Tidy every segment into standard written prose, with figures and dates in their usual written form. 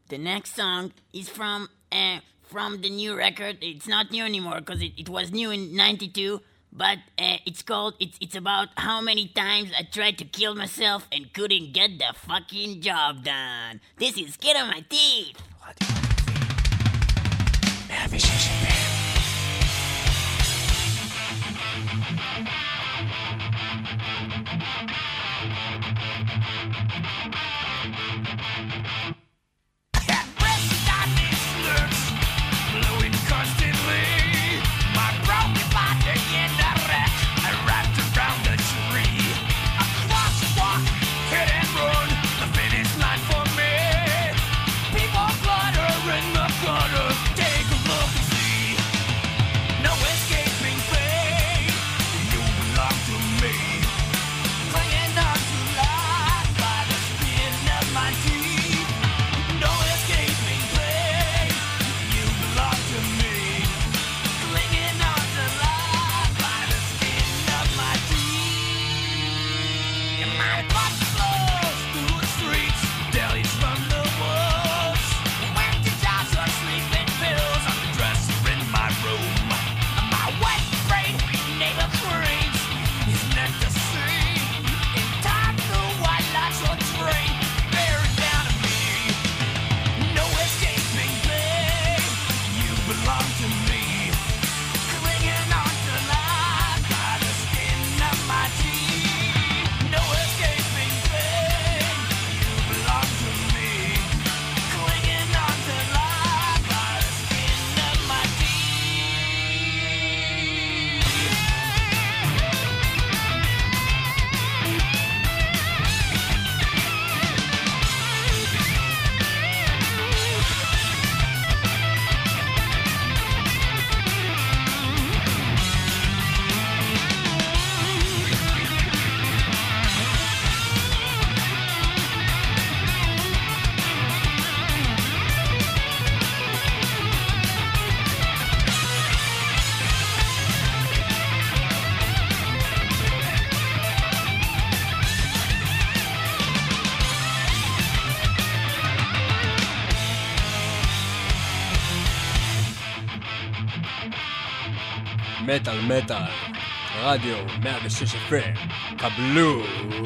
The next song is from the new record. It's not new anymore because it was new in 92, but it's about how many times I tried to kill myself and couldn't get the fucking job done. This is Skin on My Teeth. מטל מטל, רדיו 106 FM, קבלו.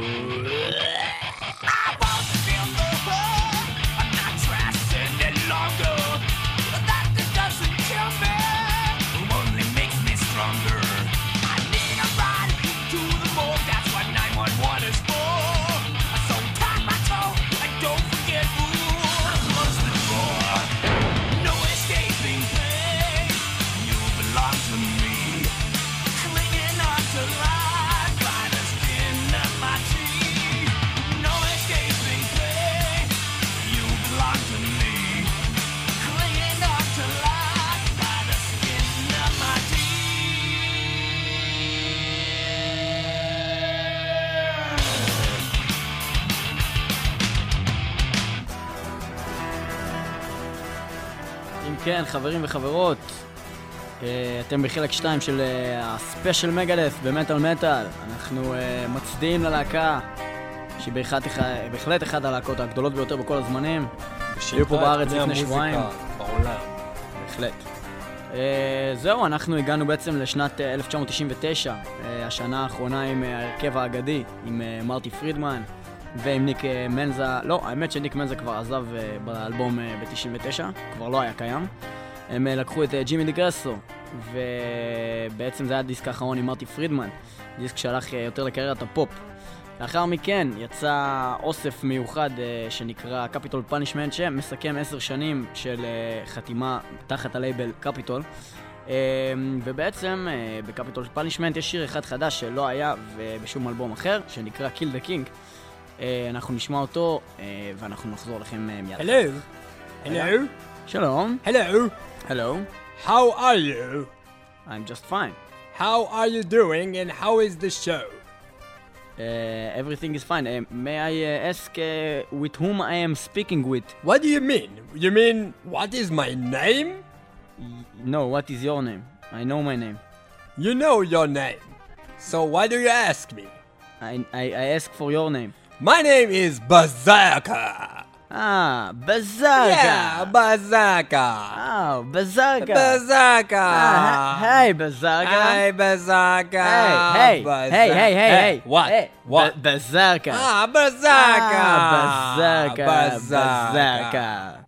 כן, חברים וחברות, אתם בחלק 2 של הספיישל מגדף במטל מטל. אנחנו מצדיעים ללהקה שהיא בהחלט אחת הלהקות הגדולות ביותר בכל הזמנים. היו פה בארץ לפני שבועיים. בעולם. בהחלט. זהו, אנחנו הגענו בעצם לשנת 1999, השנה האחרונה עם ההרכב האגדי, עם מרטי פרידמן ועם ניק מנזה. לא, האמת שניק מנזה כבר עזב באלבום ב-99, כבר לא היה קיים. הם לקחו את ג'ימי דיגרסו, ובעצם זה היה דיסק האחרון עם מרטי פרידמן, דיסק שהלך יותר לקריירת הפופ. לאחר מכן יצא אוסף מיוחד שנקרא קפיטול פאנישמנט, שמסכם 10 שנים של חתימה תחת הלייבל קפיטול. ובעצם בקפיטול פאנישמנט יש שיר אחד חדש שלא היה בשום אלבום אחר, שנקרא Kill the King. אנחנו נשמע אותו ואנחנו נחזור לכם מיד. Hello. Hello. שלום. Hello. Hello. How are you? I'm just fine. How are you doing and how is the show? Everything is fine. May I ask with whom I am speaking with? What do you mean? You mean what is my name? No, what is your name? I know my name. You know your name. So why do you ask me? I ask for your name. My name is Berserker. Bazarka. Yeah, Bazarka. Oh, Bazarka. Bazarka. Hey, Bazarka. Hey, Bazarka. Hey. What? Hey. What? Bazarka. Bazarka. Bazarka.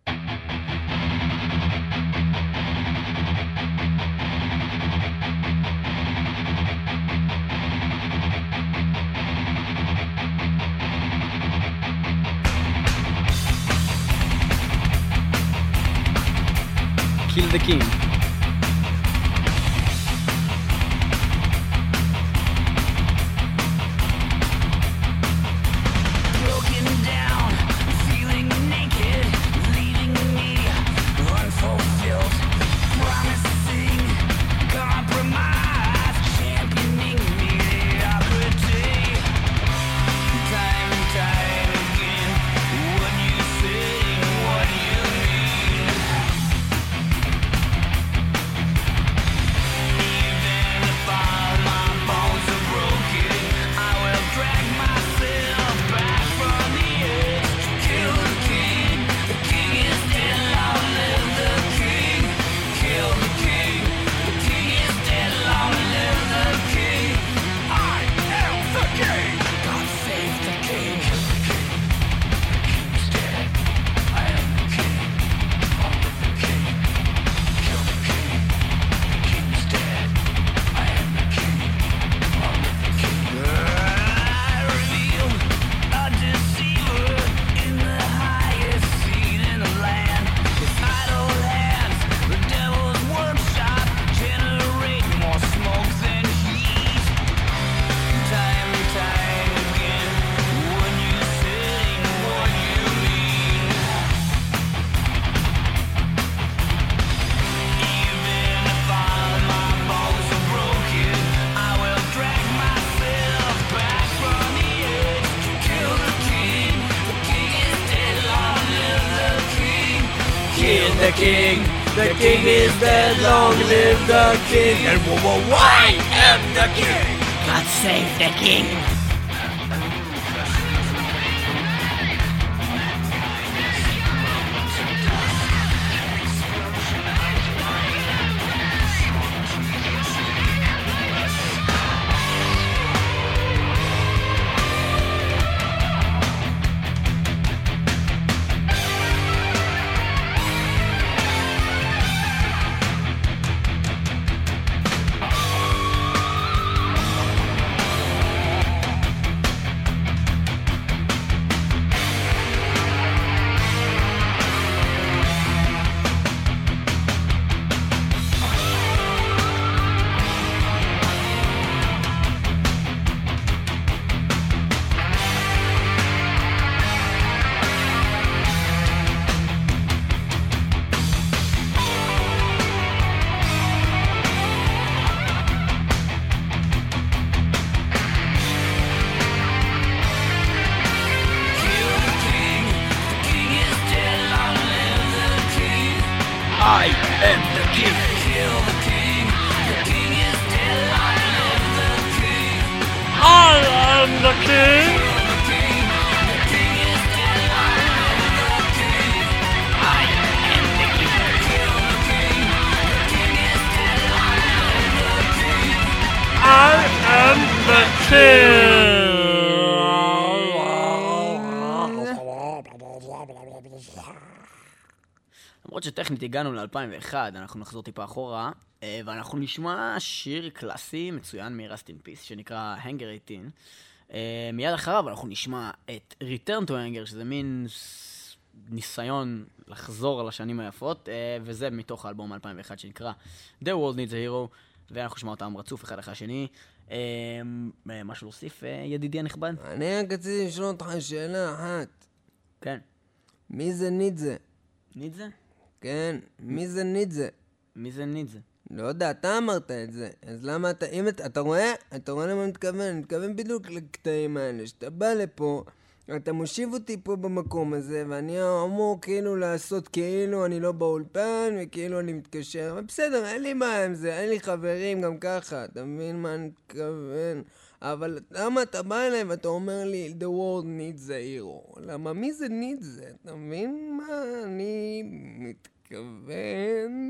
Kill the king. Broken down, feeling naked, leaving me unfulfilled. Promising compromise, championing mediocrity. Time and time again, what you say, what you mean. Even if all my bones are broken, I will drag myself back from the edge. Kill the king. The king is dead, long live the king. Kill the king. The king is dead, long live the king. I am the king. God save the king. The king's dead. I am the king. Long live the king. Kill the king. The king's dead. I am the king. Long live the king. I reveal a deceiver in the highest seat in the land. His idle hands, the devil's workshop, generate more smoke than heat. Time and time again, what you say, what you mean. Even if all my bones are broken, I will drag myself back from the edge. Kill the king. The king is dead, long live the king. Kill the king. The king is dead. Long live the king. And I am the king. God save the king. I am the king. Kill the king. The king is dead, long live the king. I am the king. Kill the king. The king is dead, long live the king. I am the king. Kill the king. The king is dead, long live the king. I am the king. למרות שטכנית הגענו ל-2001, אנחנו נחזור טיפה אחורה, ואנחנו נשמע שיר קלאסי מצוין מ-Rust in Peace, שנקרא Hangar 18. מיד אחריו אנחנו נשמע את Return to Hangar, שזה מין ניסיון לחזור על השנים היפות, וזה מתוך האלבום 2001 שנקרא The World Needs a Hero, ואנחנו נשמע אותם רצוף אחד אחרי השני. משהו להוסיף, ידידי הנכבד? אני רק רציתי לשאול אותך שאלה אחת. כן. מי זה ניטזה? ניטזה? כן, מי זה ניטזה? מי זה ניטזה? לא יודע, אתה אמרת את זה. אז למה אתה... אם אתה רואה? אתה רואה למה אני מתכוון? אני מתכוון בדיוק לקטעים האלה. שאתה בא לפה, אתה מושיב אותי פה במקום הזה, ואני אמור כאילו לעשות כאילו אני לא באולפן, וכאילו אני מתקשר. אבל בסדר, אין לי מה עם זה, אין לי חברים גם ככה. אתה מבין מה אני מתכוון? אבל למה אתה בא אליי ואתה אומר לי, the world needs a hero? למה? מי זה needs זה? אתה מבין מה אני מתכוון?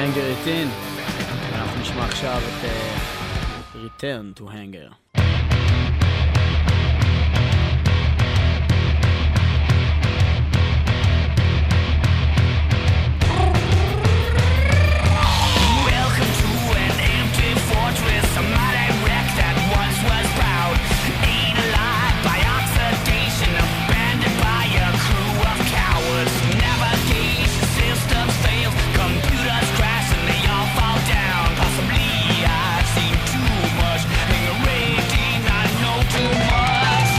Hanger 18. ואנחנו נשמע עכשיו את Return to Hanger. Welcome to an empty fortress, a mighty wreck that once was proud. Ate alive by oxidation, abandoned by a crew of cowards. Navigation systems fail, computers crash and they all fall down. Possibly I've seen too much, and the rating I know too much.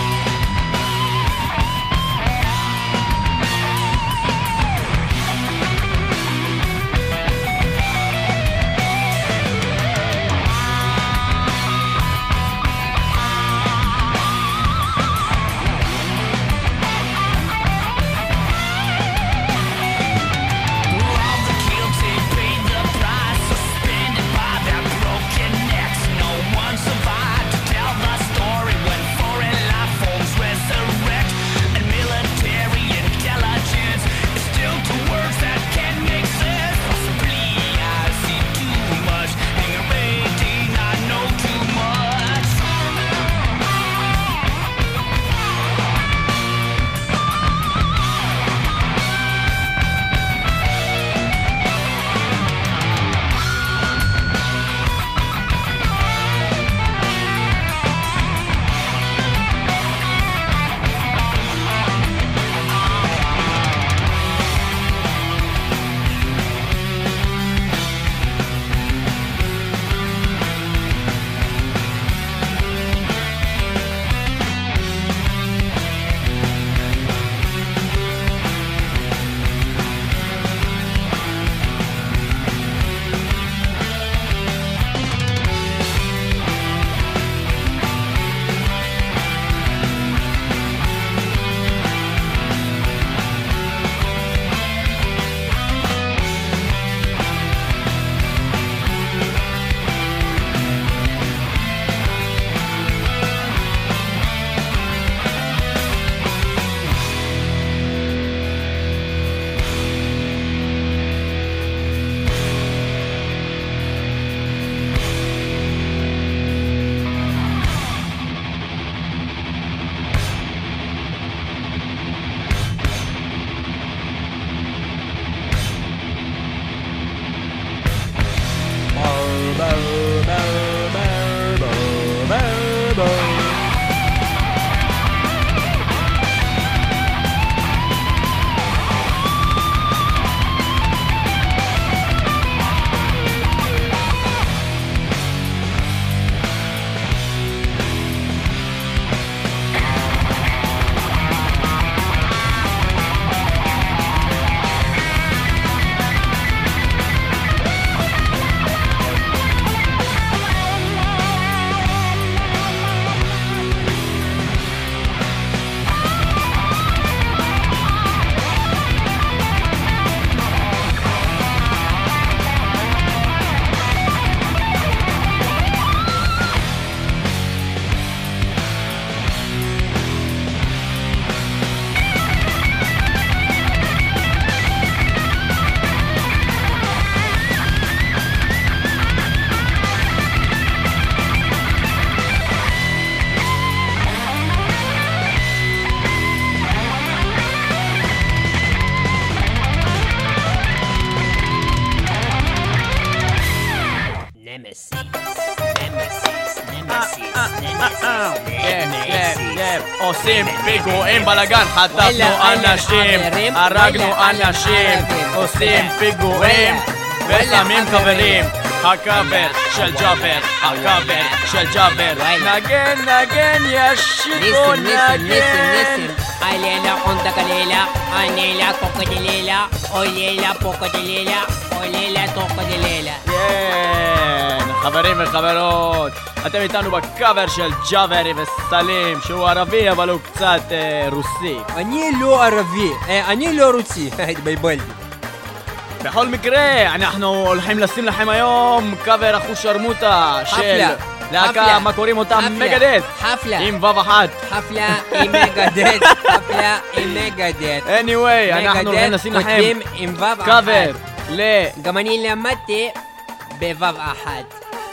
All the guilty paid the price, suspended by their broken necks. No one survived to tell the story when foreign life forms resurrect. And military intelligence is still two words that can make sense. Possibly I see too much, and the rating I know too much. עושים פיגועים בלגן, חטפנו אנשים, הרגנו אנשים, עושים פיגועים ושמים חברים. הקאבר של ג'אבר, הקאבר של ג'אבר, נגן נגן ישיקו נגן. Alela, onda calela, anela, coca de lela, olela, poco de lela, olela, toco de lela. כן, חברים וחברות, אתם איתנו בקאבר של ג'אברי וסלים, שהוא ערבי אבל הוא קצת רוסי. אני לא ערבי, אני לא רוסי, התבלבלתי. בכל מקרה, אנחנו הולכים לשים לכם היום קאבר אחוש שרמוטה של להקה, מה קוראים אותה? מגדט. חפלה. עם וו אחת. חפלה עם מגדט. חפלה עם מגדט. anyway, אנחנו הולכים לשים לכם קאבר גם אני למדתי בבב אחת.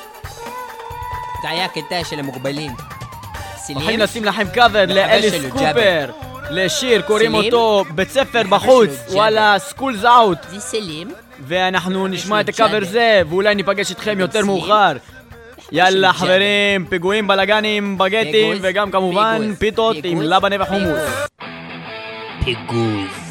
זה היה קטע של המוגבלים. הולכים לשים לכם קאבר לאליס קופר, לשיר, קוראים אותו בית ספר בחוץ, וואלה, סקולס אאוט. זה סלים. ואנחנו נשמע את הקאבר זה, ואולי ניפגש איתכם יותר מאוחר. יאללה חברים, פיגועים, בלגנים, בגטים, וגם כמובן פיתות עם לבנה וחומוס. פיגוז.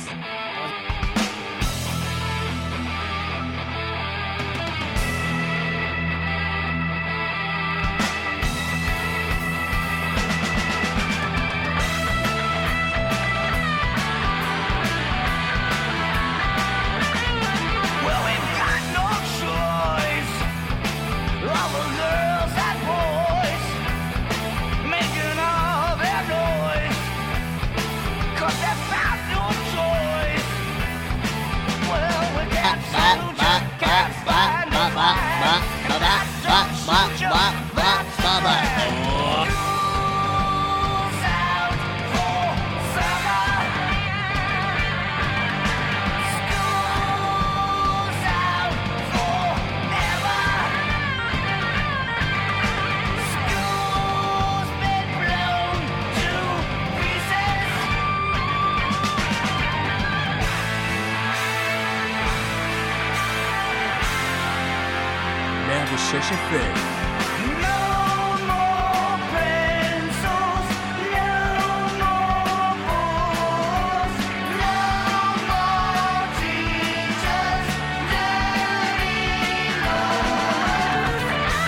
Well, we've got no choice. All the girls and boys making all their noise, 'cause they found no choice. Well, we can't shoot you, can't find no fire. Don't shoot you, that's the way. School's out for summer. School's out forever. School's been blown to pieces. No more pencils, no more books, no more teachers, dirty laws.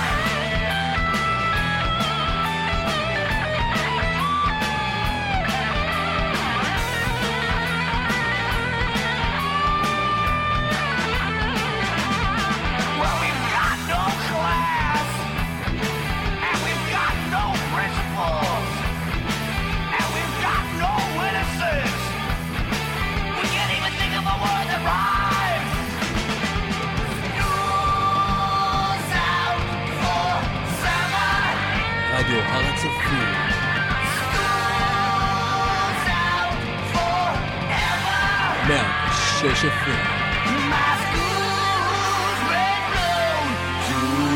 Well, we've got no class, and we've got no principles, and we've got no witnesses. We can't even think of a word that rhymes. School's out for summer. רדיו הר הצופים. School's out forever. 106 FM. My school's been blown to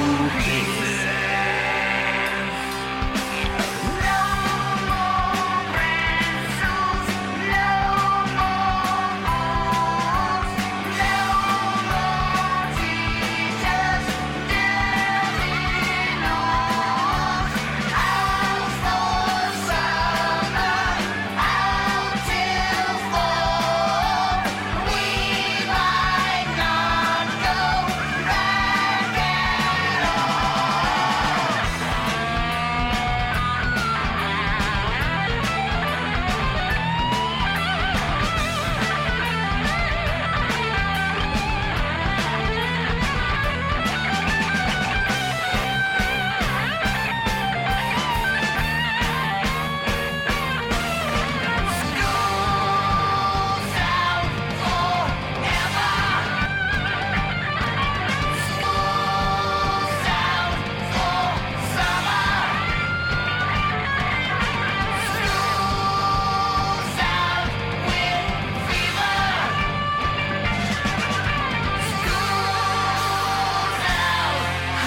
pieces. No more pencils, no more books, no more teachers, dirty laws. Out for summer, out till fall. We might not go back at all. School's out forever. School's out for summer. School's out with fever. School's out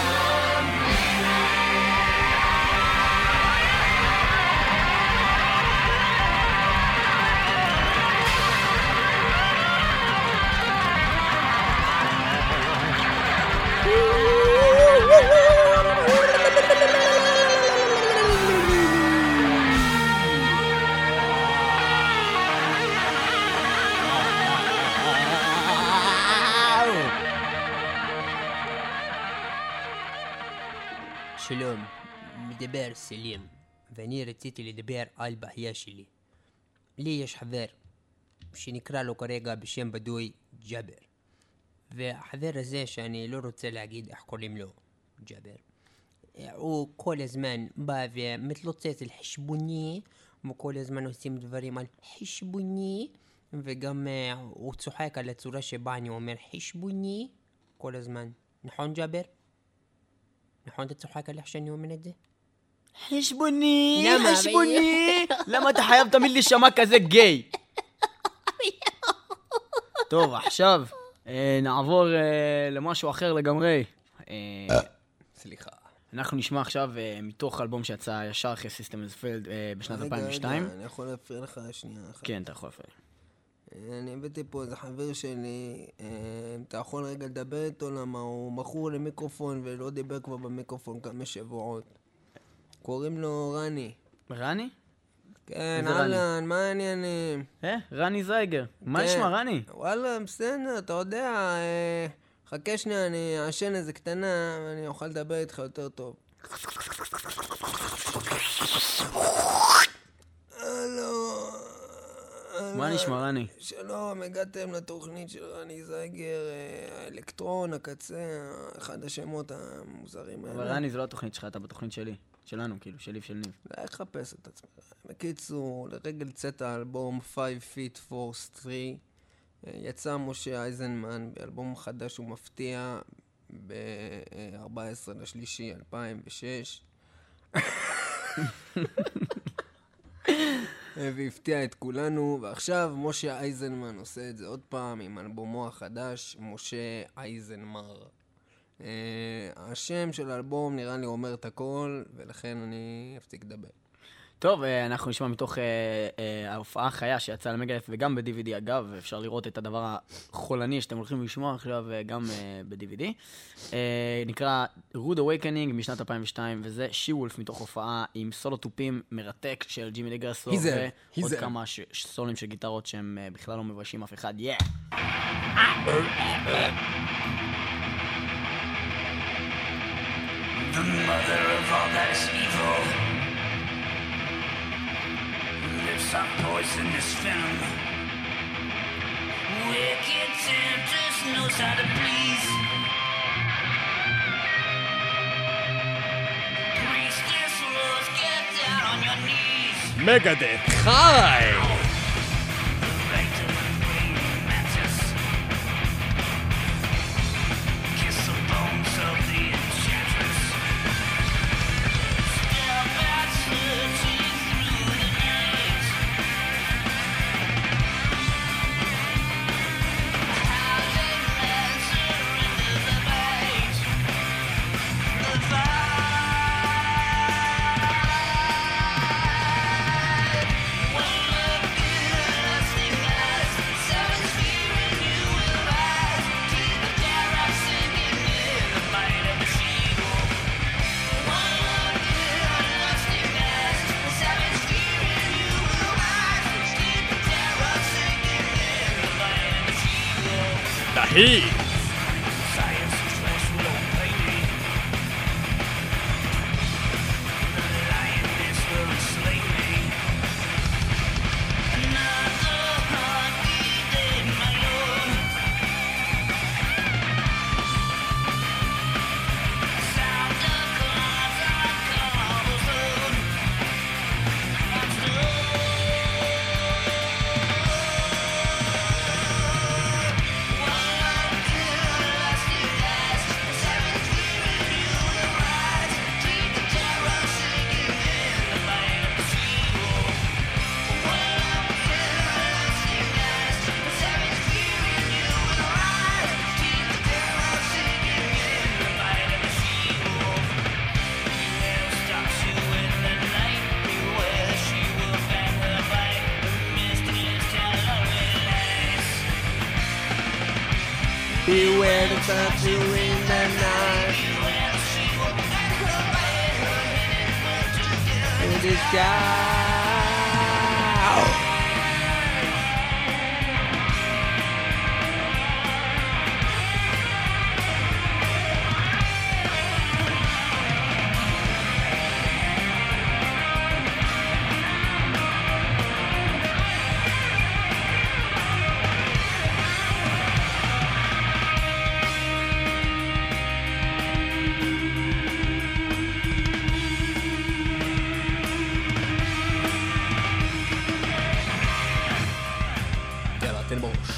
שלום, מדבר סלים, ואני רציתי לדבר על בעיה שלי. לי יש חבר שנקרא לו כרגע בשם בדוי ג'אבר, והחבר הזה שאני לא רוצה להגיד איך קוראים לו ג'אבר, הוא כל הזמן בא ומתלוצץ על חשבוני, וכל הזמן עושים דברים על חשבוני, וגם הוא צוחק על הצורה שבה אני אומר חשבוני כל הזמן. נכון ג'אבר? נכון אתה צוחק על איך שאני אומר את זה? חשבוני, למה? חשבוני. למה אתה חייב תמיד להישמע כזה גיי? טוב, עכשיו נעבור למשהו אחר לגמרי. סליחה. אנחנו נשמע עכשיו מתוך אלבום שיצא ישר אחרי System Has Failed בשנת 2002. רגע, אני יכול להפריע לך שנייה אחת. כן, אתה יכול להפריע. אני הבאתי פה איזה חבר שלי, אתה יכול רגע לדבר איתו למה הוא מכור למיקרופון ולא דיבר כבר במיקרופון כמה שבועות. קוראים לו רני. רני? כן, איזה רני? אהלן, מה העניינים? רני זייגר. מה כן. נשמע, רני? וואלה, בסדר, אתה יודע, חכה שנייה, אני אעשן איזה קטנה ואני אוכל לדבר איתך יותר טוב. הלו. מה נשמע, רני? שלום, הגעתם לתוכנית של רני זייגר, האלקטרון, הקצה, אחד השמות המוזרים האלה. אבל רני, זה לא התוכנית שלך, אתה בתוכנית שלי. שלנו, כאילו, שלי ושל ניב. לא יחפש את עצמך. בקיצור, לרגל צאת האלבום 5 Feet 4 3, יצא משה אייזנמן באלבום חדש ומפתיע ב-14/3/2006. והפתיע את כולנו, ועכשיו משה אייזנמן עושה את זה עוד פעם עם אלבומו החדש, משה אייזנמר. השם של האלבום נראה לי אומר את הכל, ולכן אני אפסיק לדבר. טוב, אנחנו נשמע מתוך ההופעה החיה שיצאה למגלף וגם ב-DVD אגב, אפשר לראות את הדבר החולני שאתם הולכים לשמוע עכשיו גם ב-DVD. נקרא Rude Awakening משנת 2002, וזה She-Wolf מתוך הופעה עם סולו טופים מרתק של ג'ימי לגרסו, ועוד כמה סולים של גיטרות שהם בכלל לא מביישים אף אחד. The mother of all that is evil lives on poisonous venom. Wicked temptress knows how to please. Priestess rules, get down on your knees. מגדף חי! The right of the praying mantis. Kiss the bones of the enchantress. Step out searching through the night. How they answer into the light. The fight. One look good, lusting eyes. Seven feet when you will rise. Keep the terror sinking in the bite of the she-wolf. One look good, lusting eyes. Seven feet when you will rise. Keep the terror sinking in the bite of the she-wolf. תהי! Science is force will pay me. The lioness will slay me. Another heartbeat day, my lord. Sound of claws on cobblestone. I'm Beware the statue in the night. In the sky. יאללה, תן בראש.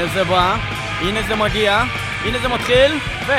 הנה זה בא, הנה זה מגיע, הנה זה מתחיל, ו...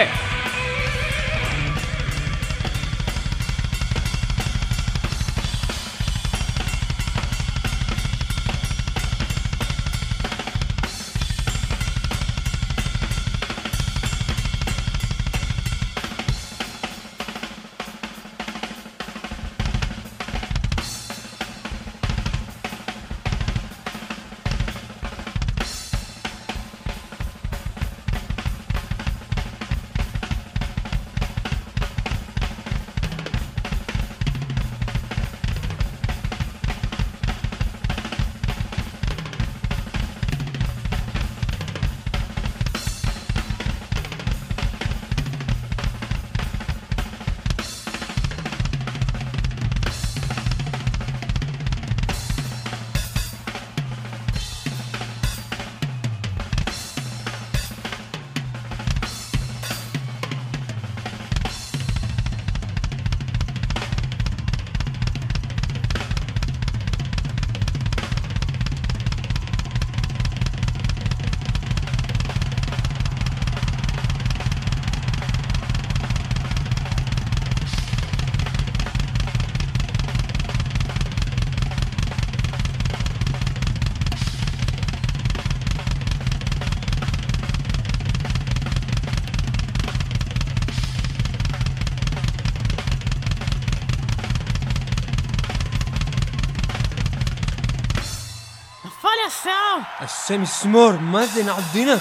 השם ישמור, מה זה נעדינה?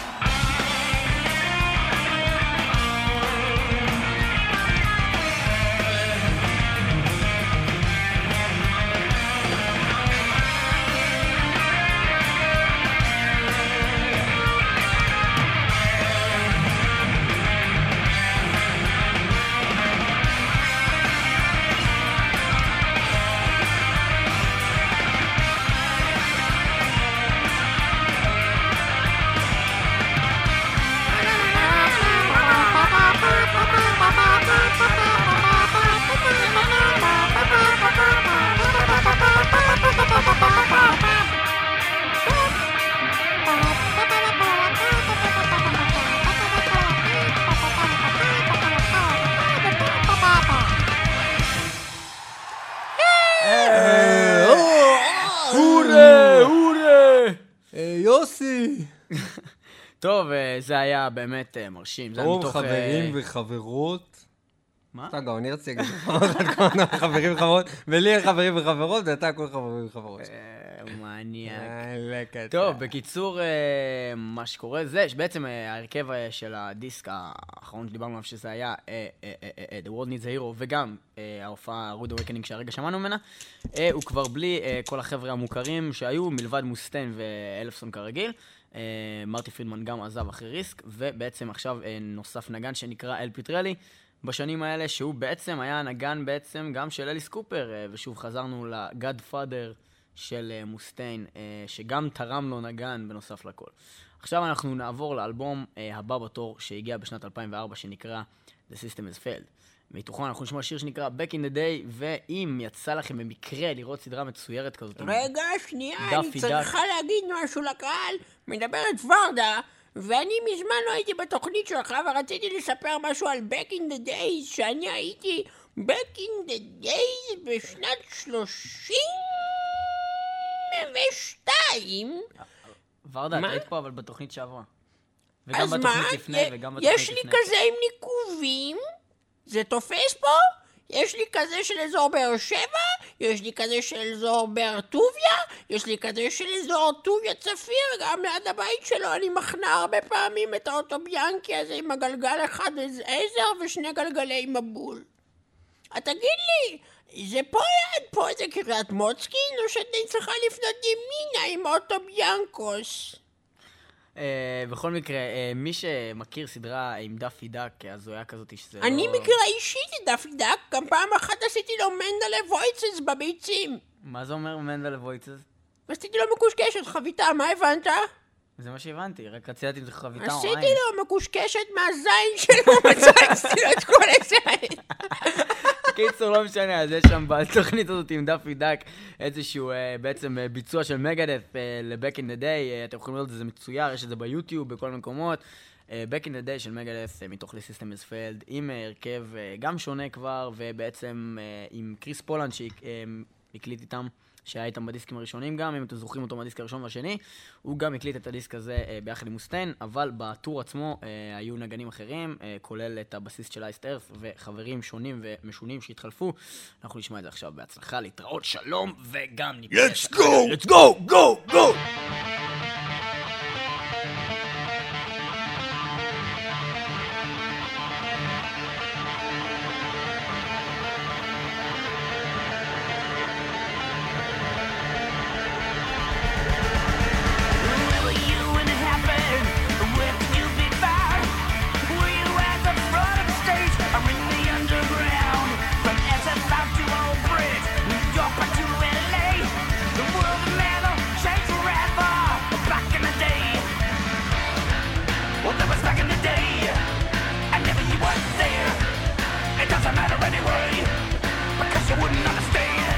יוסי! טוב, זה היה באמת מרשים. טוב, חברים וחברות. מה? אתה גם, אני רציתי להגיד חברים וחברות, ולי יש חברים וחברות, ואתה הכל חברים וחברות. מניאק. טוב, בקיצור, מה שקורה זה, שבעצם ההרכב של הדיסק האחרון שדיברנו עליו, שזה היה The World Needs a Hero, וגם ההופעה Rude Awakening שהרגע שמענו ממנה, הוא כבר בלי כל החבר'ה המוכרים שהיו, מלבד מוסטיין ואלפסון כרגיל. מרטי פרידמן גם עזב אחרי ריסק, ובעצם עכשיו נוסף נגן שנקרא אל פיטרלי, בשנים האלה, שהוא בעצם היה נגן בעצם גם של אליס קופר, ושוב חזרנו לגאדפאדר של מוסטיין, שגם תרם לו נגן בנוסף לכל. עכשיו אנחנו נעבור לאלבום הבא בתור שהגיע בשנת 2004, שנקרא The System Has Failed. מתוכו אנחנו נשמע שיר שנקרא Back in the Day, ואם יצא לכם במקרה לראות סדרה מצוירת כזאת... רגע, שנייה, אני צריכה להגיד משהו לקהל. מדברת ורדה, ואני מזמן לא הייתי בתוכנית שלך, ורציתי לספר משהו על Back in the Days, שאני הייתי Back in the Days בשנת 32. ורדה, את היית פה אבל בתוכנית שעברה. וגם אז בתוכנית מה? לפני, וגם בתוכנית יש לי כזה עם ניקובים? זה תופס פה? יש לי כזה של אזור באר שבע, יש לי כזה של אזור באר טוביה, יש לי כזה של אזור טוביה צפיר, גם ליד הבית שלו אני מכנה הרבה פעמים את האוטוביאנקי הזה עם הגלגל אחד עזר ושני גלגלי מבול. תגיד לי, זה פה ליד פה זה קריית מוצקין, או שאני צריכה לפנות ימינה עם אוטוביאנקוס? בכל מקרה, מי שמכיר סדרה עם דאפי דאק, אז הוא היה כזאת שזה לא... אני מכירה אישית את דאפי דאק, גם פעם אחת עשיתי לו מנדלה וויצס בביצים. מה זה אומר מנדלה וויצס? עשיתי לו מקושקשת חביתה, מה הבנת? זה מה שהבנתי, רק רציתי אם זה חביתה או עין. עשיתי לו מקושקשת מהזין שלו, מצאתי לו את כל הזין. קיצור, לא משנה, אז יש שם בתוכנית הזאת עם דאפי דאק איזשהו בעצם ביצוע של מגדף ל-Back in the Day, אתם יכולים לראות את זה מצויר, יש את זה ביוטיוב, בכל מקומות. Back in the Day של מגדף מתוך ל-System is Failed, עם הרכב גם שונה כבר, ובעצם עם קריס פולנד שהקליט איתם, שהיה איתם בדיסקים הראשונים גם, אם אתם זוכרים אותו מהדיסק הראשון והשני, הוא גם הקליט את הדיסק הזה ביחד עם מוסטיין, אבל בטור עצמו היו נגנים אחרים, כולל את הבסיסט של אייסט ארת' וחברים שונים ומשונים שהתחלפו. אנחנו נשמע את זה עכשיו בהצלחה, להתראות, שלום, וגם ניפגש. Let's go! Let's go! Go! Go! Were you when it happened? Where could you be found? Were you at the front of the stage or in the underground? From SF out to Old Bridge, New York back to LA. The world of metal changed forever. Back in the day, well, that was back in the day. And never you weren't there. It doesn't matter anyway, because you wouldn't understand.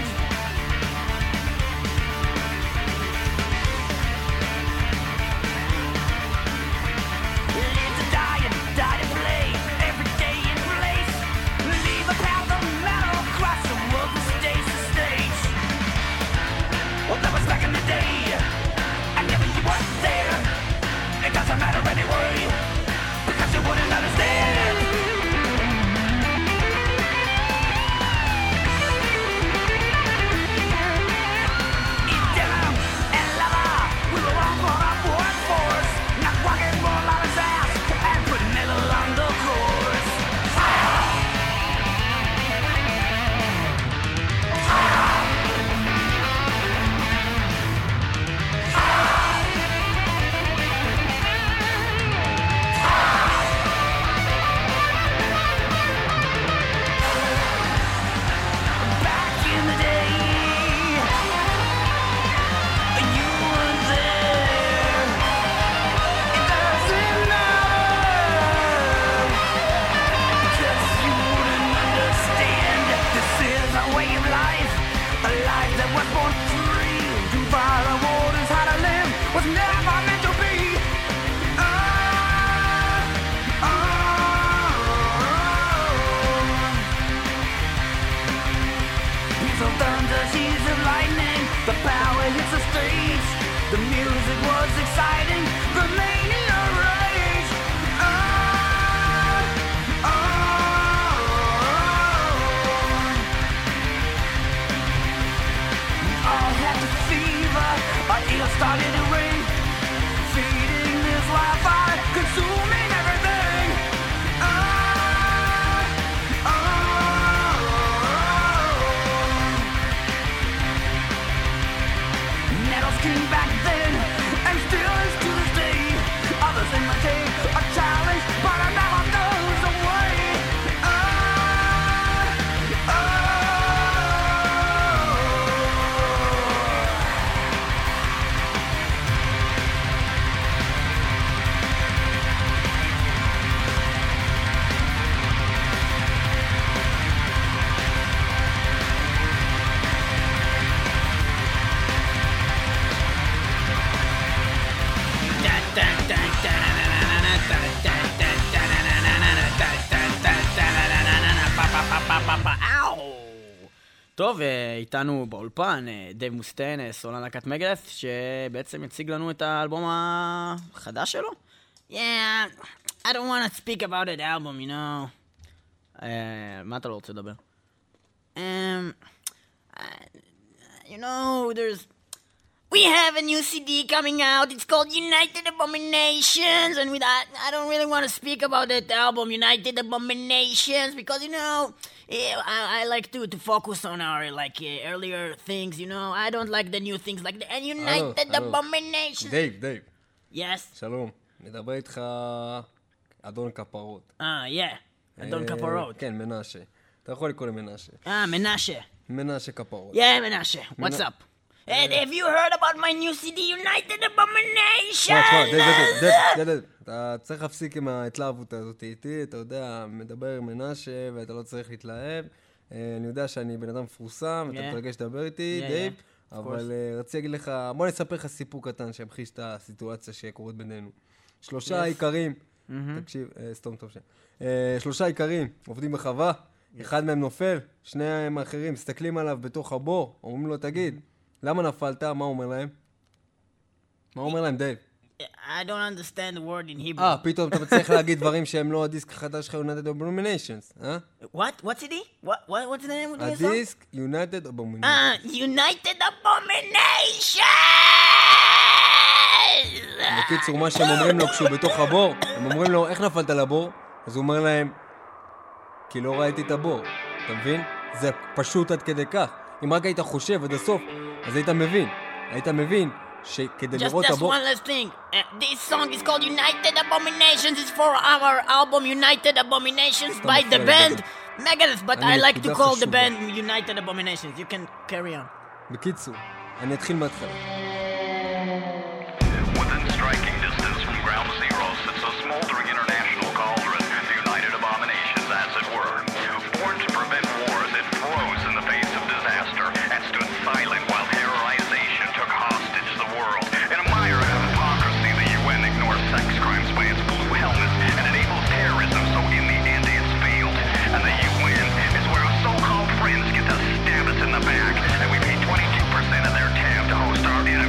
Live to die and die to play. Every day in place. Leave a path of metal across the world to stage to stage. Well, that was back in the day. And never you weren't there. It doesn't matter anyway, because you wouldn't understand. Eat down and lava. We were all brought up one force. Not walking more on his ass and putting metal on the course. Back in the day, you weren't there. It doesn't matter, because you wouldn't understand. This is a way of life, a life that was born free. To follow orders how to live was never meant to be. Peace of thunder, seas of lightning, the power hits the stage. The music was exciting, the mania rage. All had the fever, our ears started to ring. Feeding this Wi-Fi, consuming everything. Nettles king back then, and still is to this day. Others imitate a challenge, but it never goes away. טוב, איתנו באולפן דייב מוסטיין, סולן להקת מגדף, שבעצם יציג לנו את האלבום החדש שלו. Yeah, I don't want to speak about that album, you know. מה אתה לא רוצה לדבר? You know, we have a new CD coming out. It's called United Abominations, and I don't really want to speak about that album, United Abominations, because you know, I like to focus on our earlier things. You know, I don't like the new things like the United Abominations. דייב, Yes. שלום. מדבר איתך אדון כפרות. Yeah. אדון כפרות. כן, מנשה. אתה יכול לקרוא למנשה. מנשה. מנשה כפרות. Yeah, Menashe. What's up? Hey, have you heard about my new CD, United Abomination? דייב, אתה צריך להפסיק עם ההתלהבות הזאת איתי, אתה יודע, מדבר מנשה ואתה לא צריך להתלהב. אני יודע שאני בן אדם מפורסם, אתה Yeah. מתרגש לדבר איתי, Yeah, דייב, of אבל רציתי להגיד לך, בוא נספר לך סיפור קטן שימחיש את הסיטואציה שקורית בינינו. 3 איכרים, תקשיב, סתום טוב שם. 3 איכרים עובדים בחווה, אחד מהם נופל, 2 האחרים מסתכלים עליו בתוך הבור, אומרים לו, תגיד, למה נפלת? מה הוא אומר להם? מה הוא אומר להם, דייב? I don't understand the word in Hebrew. פתאום אתה מצליח להגיד דברים שהם לא הדיסק החדש שלך, United Abominations, אה? What? What's it? What's the name of the song? הדיסק United Abominations. United Abominations! בקיצור, מה שהם אומרים לו כשהוא בתוך הבור, הם אומרים לו, איך נפלת לבור? אז הוא אומר להם, כי לא ראיתי את הבור. אתה מבין? זה פשוט עד כדי כך. אם רק היית חושב עד הסוף, אז היית מבין. היית מבין שכדי Just לראות את one הבור... last thing. This song is called United Abominations. It's for our album United Abominations by the band Megadeth, but I like to call the band United Abominations. You can carry on. בקיצור, אני אתחיל מההתחלה. Within striking distance from ground zero sits a smoldering international cauldron, the United Abominations, as it were. Born to prevent wars, it froze in the face of disaster and stood silent while terrorization took hostage the world. In a mire of hypocrisy, the UN ignores sex crimes by its blue helmets and enables terrorism, so in the end it's failed. And the UN is where our so-called friends get to stab us in the back, and we pay 22% of their tab to host our enemy.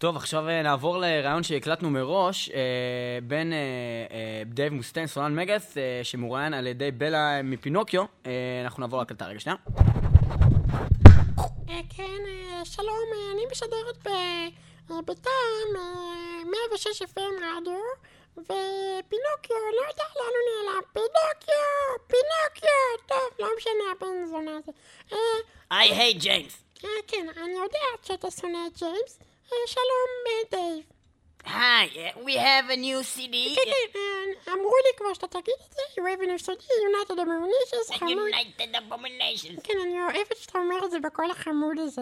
טוב, עכשיו נעבור לרעיון שהקלטנו מראש בין דייב מוסטיין, סולן מגאס, שמוראיין על ידי בלה מפינוקיו. אנחנו נעבור להקלטה רגע שנייה. כן, שלום, אני משדרת בטעם 106 FM רדיו, ופינוקיו, לא יודע לאן הוא נעלם. פינוקיו, טוב, לא משנה, הבן זונה הזה. I hate James. כן, אני יודעת שאתה שונא את ג'יימס. שלום, דייב. Hi, we have a new CD. כן, אמרו לי כבר שאתה תגיד את זה, you have a new CD, United Abominations, חמוד. United Abominations. כן, אני אוהבת שאתה אומר את זה בכל החמוד הזה.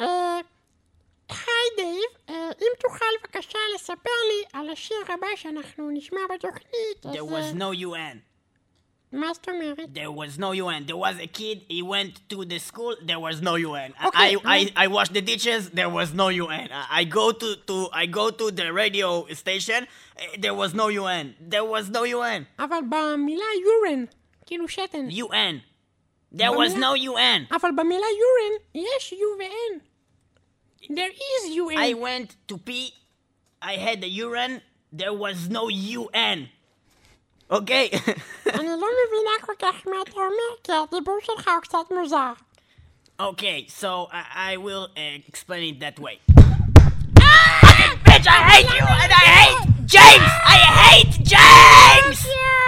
היי דייב, אם תוכל בבקשה לספר לי על השיר הבא שאנחנו נשמע בתוכנית, אז... There was no UN. מה זאת אומרת? There was no UN. There was a kid, he went to the school, there was no UN. Okay, I washed the dishes, there was no UN. I go to the radio station, there was no UN. There was no UN. אבל במילה יורן, כאילו שתן. UN. There was no UN. אבל במילה יורן יש U ו-N. There is UN. I went to pee, I had a urine, there was no UN. אוקיי? אני לא מבינה כל כך מה אתה אומר, כי הדיבור שלך הוא קצת מוזר. Okay, so I will explain it that way. Bitch, I hate you and I hate James! I hate James!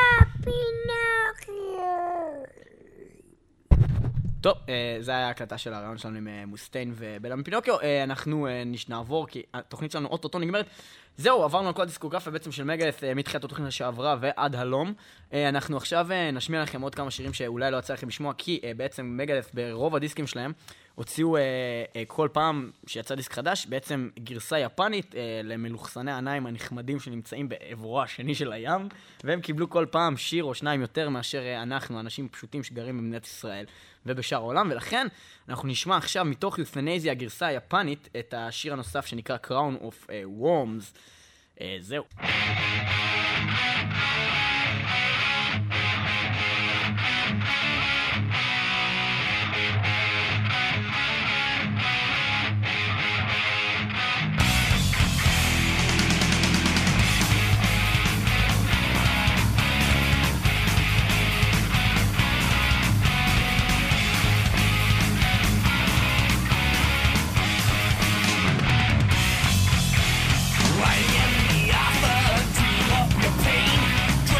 טוב, זה היה ההקלטה של הרעיון שלנו עם מוסטיין ובלה מפינוקיו. אנחנו נעבור, כי התוכנית שלנו אוטוטו נגמרת. זהו, עברנו על כל הדיסקוגרפיה בעצם של מגאס מתחילת התוכנית שעברה ועד הלום. אנחנו עכשיו נשמיע לכם עוד כמה שירים שאולי לא יצא לכם לשמוע, כי בעצם מגאס ברוב הדיסקים שלהם הוציאו כל פעם שיצא דיסק חדש, בעצם גרסה יפנית למלוכסני העיניים הנחמדים שנמצאים בעברו השני של הים, והם קיבלו כל פעם שיר או שניים יותר מאשר אנחנו, אנשים פשוטים שגרים במדינת ישראל ובשאר העולם, ולכן אנחנו נשמע עכשיו מתוך יות'נזיה, הגרסה היפנית, את השיר הנוסף שנקרא Crown of Worms. זהו. I am the author, dream of your pain.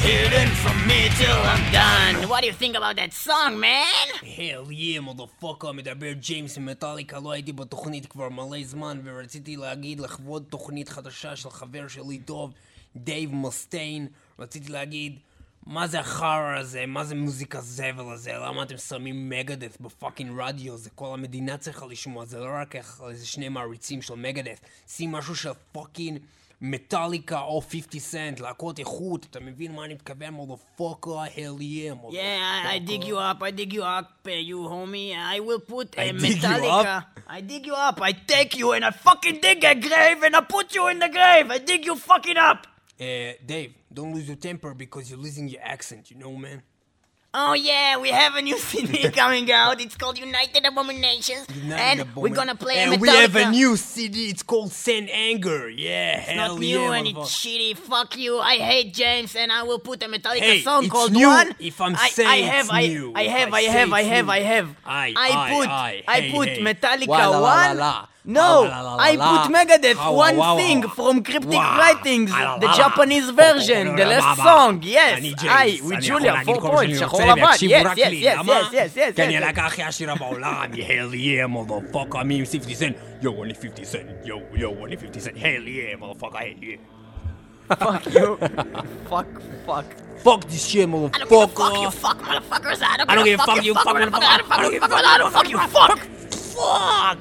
hidden from me till I'm done. What do you think about that song, man? Hell yeah, motherfucker, מדבר ג'יימס ממטאליקה, לא הייתי בתוכנית כבר מלא זמן, ורציתי להגיד לכבוד תוכנית חדשה של חבר שלי טוב, דייב מוסטיין, רציתי להגיד, מה זה החרא הזה? מה זה מוזיקה זבל הזה? למה אתם שמים מגדף בפאקינג רדיו? זה כל המדינה צריכה לשמוע, זה לא רק איזה שני מעריצים של מגדף, שים משהו של פאקינג מטאליקה או 50 סנט, להקות איכות, אתה מבין מה אני מתכוון? מודפוקה, hell yeah, motherfucker. Yeah, I dig you up, you homie. I will put I dig you Metallica. I dig you up, I take you and I fucking dig a grave and I put you in the grave. I dig you fucking up. Dave, don't lose your temper because you're losing your accent, you know, man? Oh yeah, we have a new CD coming out. It's called United Abominations. We're gonna play and Metallica. we have a new CD, it's called Send Anger. Yeah, It's hell not new yeah, and it's shitty. Fuck you. I hate James and I will put a Metallica Hey, song it's called new One. if I'm saying it's new. I have. I put Metallica One. No, I put Megadeth One Thing from Cryptic Writings, the Japanese version, the last song. Yes, with Julia, 4 points, שחור לבן. Yes. כי אני הלהקה הכי עשירה בעולם, hell yeah, motherfucker, me 50 cent, yo, only 50 cent, yo, only 50 cent, hell yeah, motherfucker, hell yeah. Fuck you. Fuck this shit, I don't give a fuck, you motherfucker. fuck, motherfuckers. I don't give a fuck, you fuck, motherfucker. I don't give a fuck, I don't fuck, you fuck. Fuck!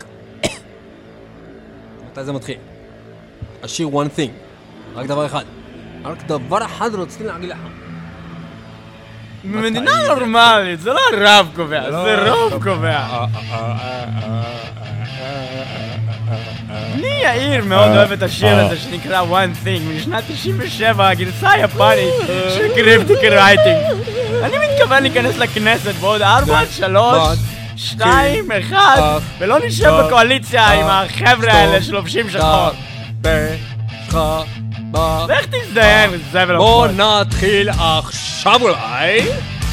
מתי זה מתחיל? השיר one thing. רק דבר אחד. רק דבר אחד רציתי להגיד לך. במדינה נורמלית, זה לא הרב קובע, זה רוב קובע. אני יאיר מאוד אוהב את השיר הזה שנקרא One Thing משנת 97, הגרסה היפנית של קריפטיק רייטינג. אני מתכוון להיכנס לכנסת בעוד 4, 3, 2, 1 ולא נשב בקואליציה עם החבר'ה האלה שלובשים שחור. ואיך תזדיין? זבל בוא נתחיל עכשיו אולי.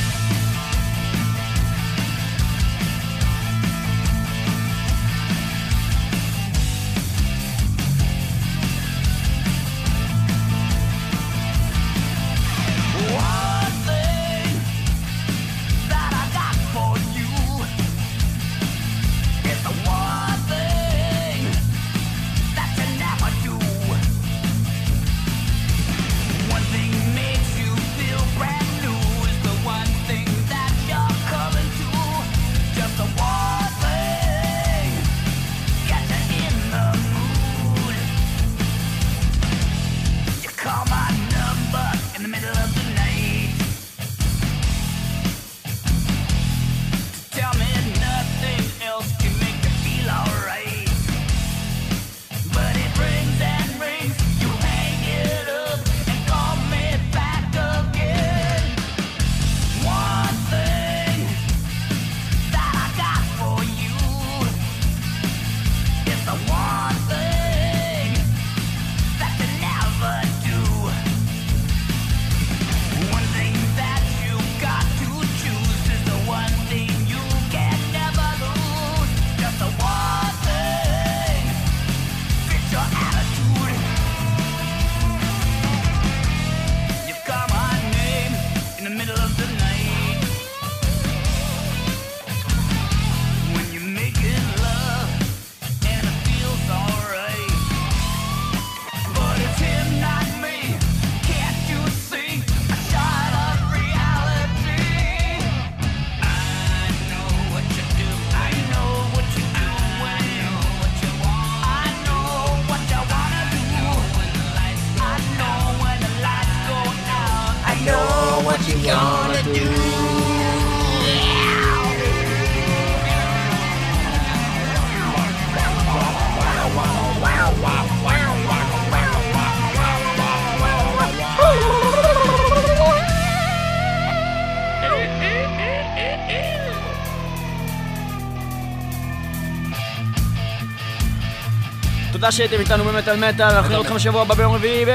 תודה שהייתם איתנו במטל מטל, אנחנו נראה אתכם בשבוע הבא ביום רביעי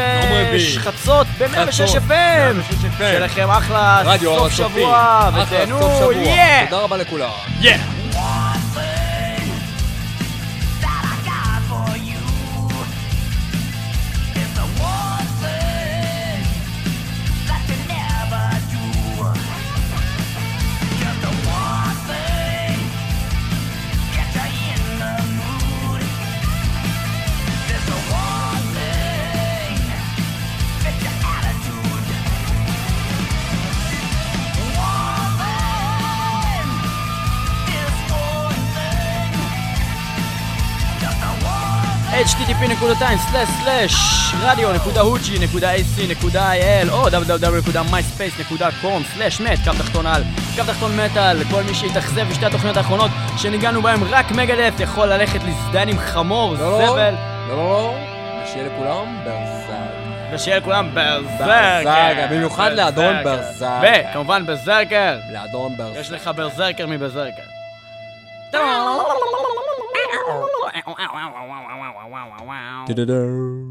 בחצות ב-106 FM. שיהיה לכם אחלה סוף שבוע ותהנו, תודה רבה לכולם. Never http://radio.huji.ac.il או www.myspace.com/met _מטל. כל מי שהתאכזב בשתי התוכניות האחרונות שניגענו בהם רק מגדף יכול ללכת לזדן עם חמור זבל. לא, ושיהיה לכולם ברזק. ושיהיה לכולם ברזרקר. במיוחד לאדון ברזק. וכמובן ברזרקר. לאדון ברזק. יש לך ברזרקר מברזרקר. טה-דה-דה.